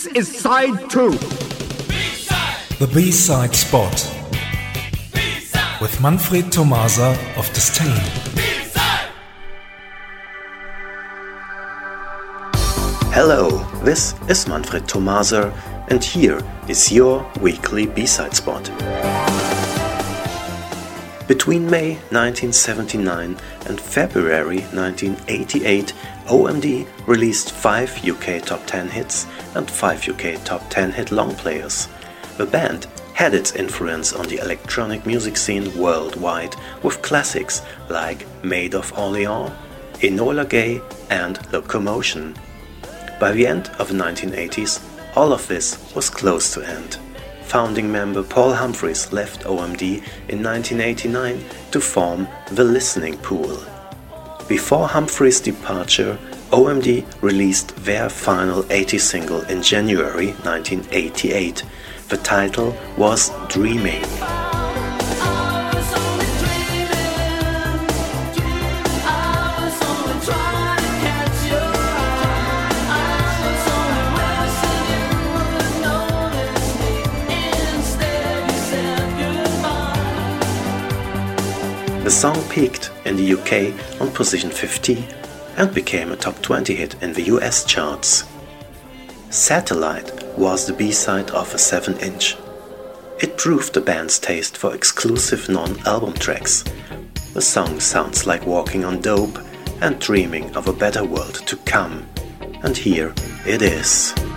This is side 2. The B-side spot. With Manfred Tomasa of Disdain. Hello, this is Manfred Tomasa, and here is your weekly B-side spot. Between May 1979 and February 1988, OMD released 5 UK top 10 hits and 5 UK top 10 hit long players. The band had its influence on the electronic music scene worldwide with classics like Maid of Orleans, Enola Gay and Locomotion. By the end of the 1980s, all of this was close to end. Founding member Paul Humphreys left OMD in 1989 to form The Listening Pool. Before Humphreys' departure, OMD released their final 80s single in January 1988. The title was Dreaming. The song peaked in the UK on position 50 and became a top 20 hit in the US charts. Satellite was the B-side of a 7-inch. It proved the band's taste for exclusive non-album tracks. The song sounds like walking on dope and dreaming of a better world to come. And here it is.